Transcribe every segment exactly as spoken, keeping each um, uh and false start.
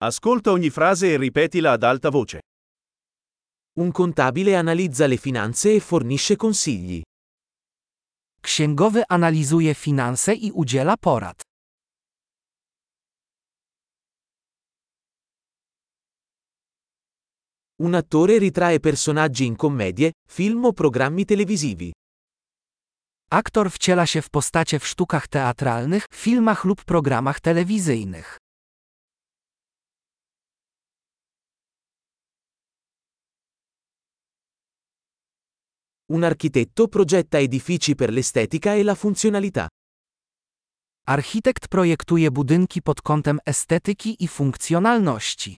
Ascolta ogni frase e ripetila ad alta voce. Un contabile analizza le finanze e fornisce consigli. Księgowy analizuje finanse i udziela porad. Un attore ritrae personaggi in commedie, film o programmi televisivi. Aktor wciela się w postacie w sztukach teatralnych, filmach lub programach telewizyjnych. Un architetto progetta edifici per l'estetica e la funzionalità. Architekt projektuje budynki pod kątem estetyki i funkcjonalności.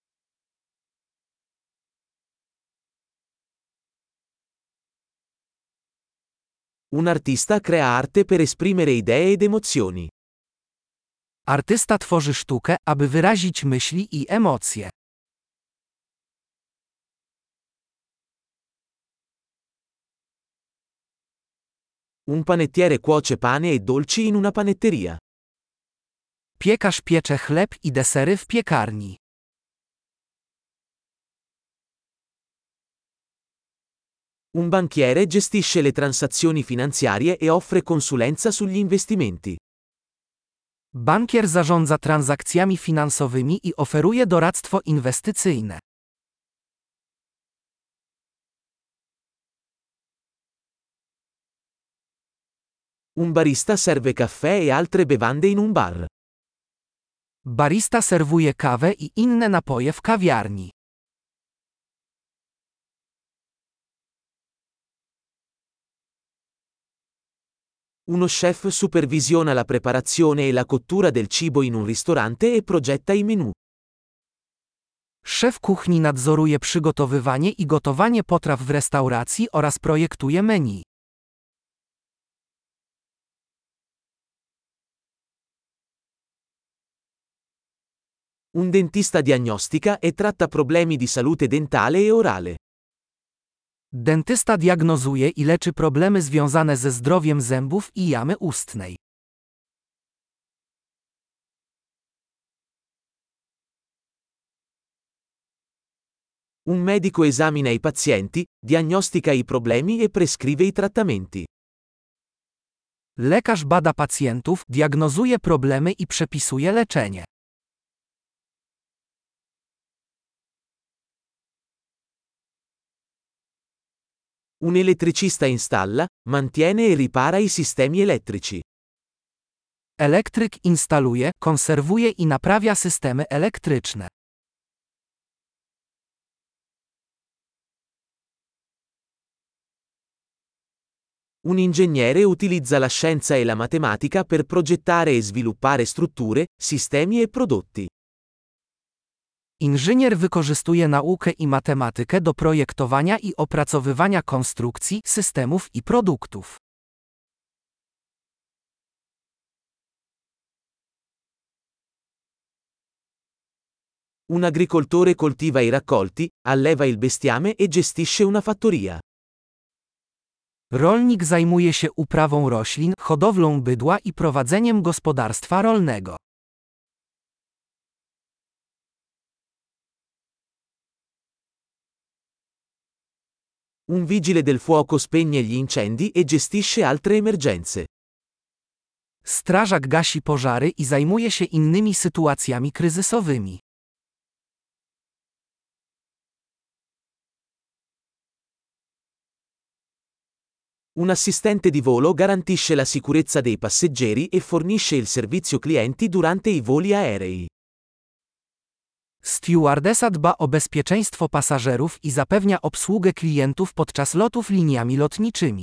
Un artista crea arte per esprimere idee ed emozioni. Artysta tworzy sztukę, aby wyrazić myśli i emocje. Un panettiere cuoce pane e dolci in una panetteria. Piekarz piecze chleb i desery w piekarni. Un banchiere gestisce le transazioni finanziarie e offre consulenza sugli investimenti. Bankier zarządza transakcjami finansowymi i oferuje doradztwo inwestycyjne. Un barista serve caffè e altre bevande in un bar. Barista serwuje kawę i inne napoje w kawiarni. Uno chef supervisiona la preparazione e la cottura del cibo in un ristorante e progetta i menù. Szef kuchni nadzoruje przygotowywanie i gotowanie potraw w restauracji oraz projektuje menu. Un dentista diagnostica e tratta problemi di salute dentale e orale. Dentysta diagnozuje i leczy problemy związane ze zdrowiem zębów i jamy ustnej. Un medico esamina i pazienti, diagnostica i problemi e prescrive i trattamenti. Lekarz bada pacjentów, diagnozuje problemy i przepisuje leczenie. Un elettricista installa, mantiene e ripara i sistemi elettrici. Elektryk instaluje, konserwuje i naprawia systemy elektryczne. Un ingegnere utilizza la scienza e la matematica per progettare e sviluppare strutture, sistemi e prodotti. Inżynier wykorzystuje naukę i matematykę do projektowania i opracowywania konstrukcji, systemów i produktów. Un agricoltore coltiva i raccolti, alleva il bestiame e gestisce una fattoria. Rolnik zajmuje się uprawą roślin, hodowlą bydła i prowadzeniem gospodarstwa rolnego. Un vigile del fuoco spegne gli incendi e gestisce altre emergenze. Strażak gasi pożary i zajmuje się innymi sytuacjami kryzysowymi. Un assistente di volo garantisce la sicurezza dei passeggeri e fornisce il servizio clienti durante i voli aerei. Stewardesa dba o bezpieczeństwo pasażerów i zapewnia obsługę klientów podczas lotów liniami lotniczymi.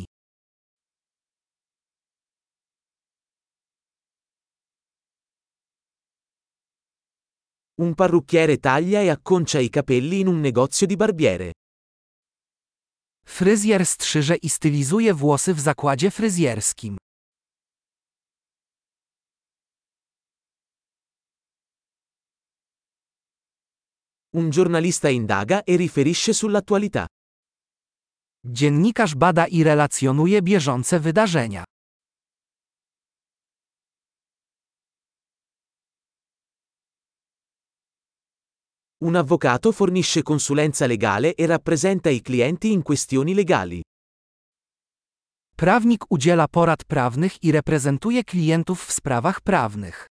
Un parrucchiere taglia e acconcia i capelli in un negozio di barbiere. Fryzjer strzyże i stylizuje włosy w zakładzie fryzjerskim. Un giornalista indaga e riferisce sull'attualità. Dziennikarz bada i relacjonuje bieżące wydarzenia. Un avvocato fornisce consulenza legale e rappresenta i clienti in questioni legali. Prawnik udziela porad prawnych i reprezentuje klientów w sprawach prawnych.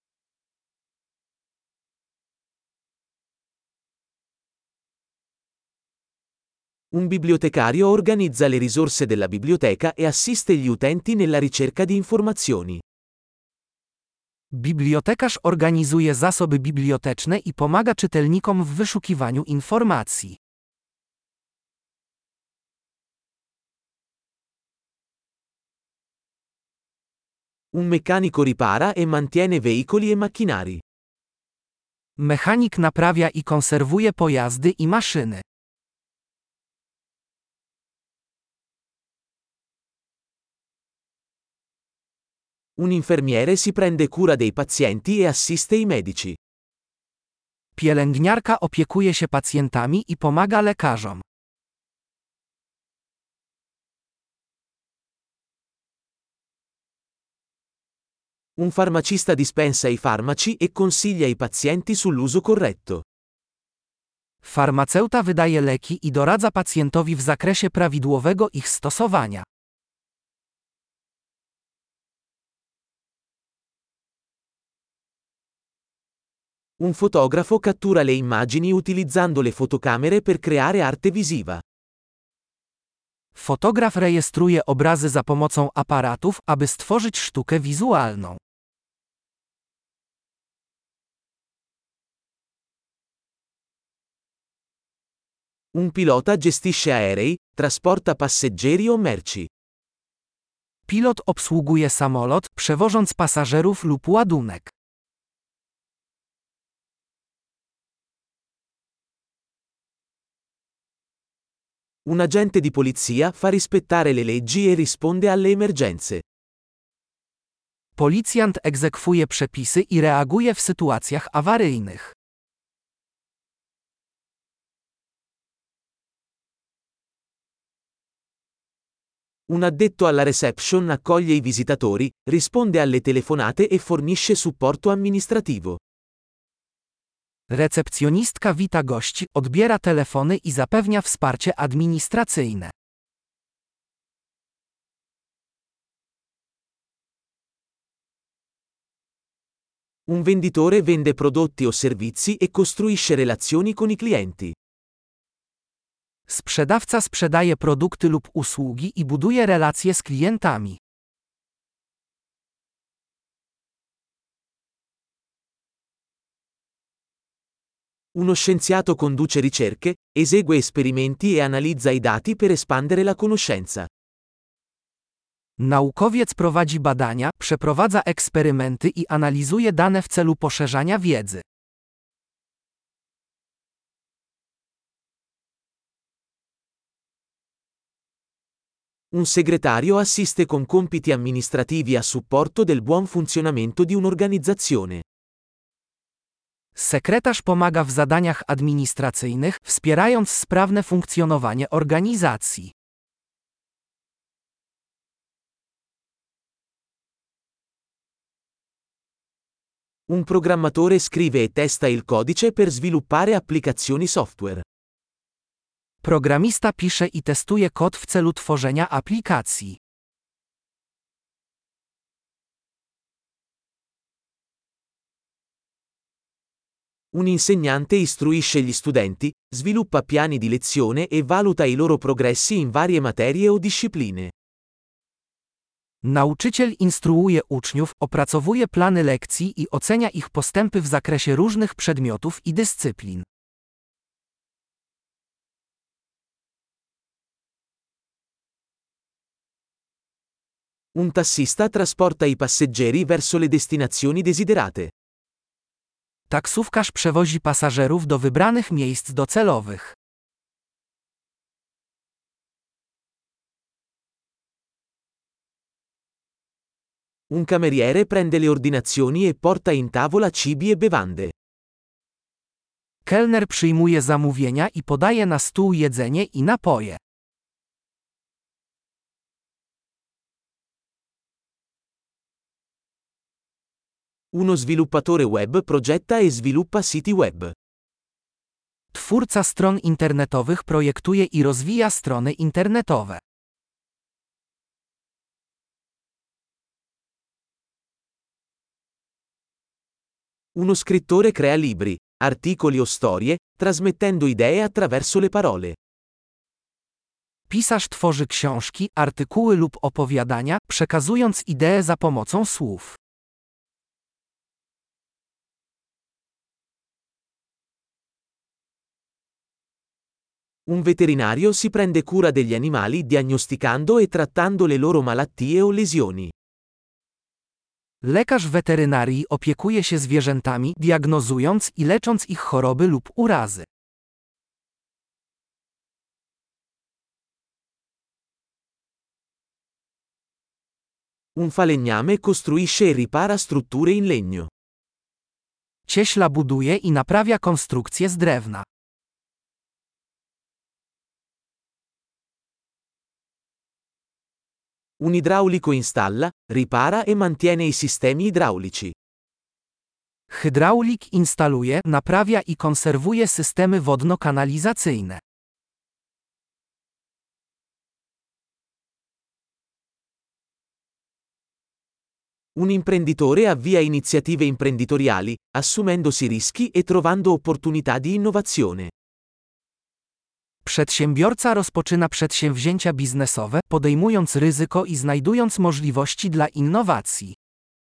Un bibliotecario organizza le risorse della biblioteca e assiste gli utenti nella ricerca di informazioni. Bibliotekarz organizuje zasoby biblioteczne i pomaga czytelnikom w wyszukiwaniu informacji. Un meccanico ripara e mantiene veicoli e macchinari. Mechanik naprawia i konserwuje pojazdy i maszyny. Un infermiere si prende cura dei pazienti e assiste i medici. Pielęgniarka opiekuje się pacjentami i pomaga lekarzom. Un farmacista dispensa i farmaci e consiglia i pazienti sull'uso corretto. Farmaceuta wydaje leki i doradza pacjentowi w zakresie prawidłowego ich stosowania. Un fotografo cattura le immagini utilizzando le fotocamere per creare arte visiva. Fotograf rejestruje obrazy za pomocą aparatów, aby stworzyć sztukę wizualną. Un pilota gestisce aerei, trasporta passeggeri o merci. Pilot obsługuje samolot, przewożąc pasażerów lub ładunek. Un agente di polizia fa rispettare le leggi e risponde alle emergenze. Policjant egzekwuje przepisy i reaguje w sytuacjach awaryjnych. Un addetto alla reception accoglie i visitatori, risponde alle telefonate e fornisce supporto amministrativo. Recepcjonistka wita gości, odbiera telefony i zapewnia wsparcie administracyjne. Un venditore vende prodotti o servizi e costruisce relazioni con i clienti. Sprzedawca sprzedaje produkty lub usługi i buduje relacje z klientami. Uno scienziato conduce ricerche, esegue esperimenti e analizza i dati per espandere la conoscenza. Naukowiec prowadzi badania, przeprowadza eksperymenty i analizuje dane w celu poszerzania wiedzy. Un segretario assiste con compiti amministrativi a supporto del buon funzionamento di un'organizzazione. Sekretarz pomaga w zadaniach administracyjnych, wspierając sprawne funkcjonowanie organizacji. Un programmatore scrive e testa il codice per sviluppare applicazioni software. Programista pisze i testuje kod w celu tworzenia aplikacji. Un insegnante istruisce gli studenti, sviluppa piani di lezione e valuta i loro progressi in varie materie o discipline. Nauczyciel instruuje uczniów, opracowuje plany lekcji i ocenia ich postępy w zakresie różnych przedmiotów i dyscyplin. Un tassista trasporta i passeggeri verso le destinazioni desiderate. Taksówkarz przewozi pasażerów do wybranych miejsc docelowych. Un cameriere prende le ordinazioni e porta in tavola cibi e bevande. Kelner przyjmuje zamówienia i podaje na stół jedzenie i napoje. Uno sviluppatore web progetta e sviluppa siti web. Twórca stron internetowych projektuje i rozwija strony internetowe. Uno scrittore crea libri, articoli o storie, trasmettendo idee attraverso le parole. Pisarz tworzy książki, artykuły lub opowiadania, przekazując idee za pomocą słów. Un veterinario si prende cura degli animali diagnosticando e trattando le loro malattie o lesioni. Lekarz weterynarii opiekuje się zwierzętami, diagnozując i lecząc ich choroby lub urazy. Un falegname costruisce e ripara strutture in legno. Cieśla buduje i naprawia konstrukcje z drewna. Un idraulico installa, ripara e mantiene i sistemi idraulici. Hydraulik instaluje, naprawia i konserwuje systemy wodno-kanalizacyjne. Un imprenditore avvia iniziative imprenditoriali, assumendosi rischi e trovando opportunità di innovazione. Przedsiębiorca rozpoczyna przedsięwzięcia biznesowe, podejmując ryzyko i znajdując możliwości dla innowacji.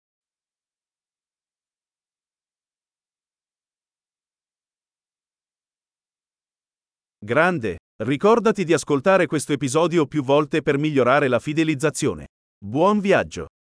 Grande! Ricordati di ascoltare questo episodio più volte per migliorare la fidelizzazione. Buon viaggio!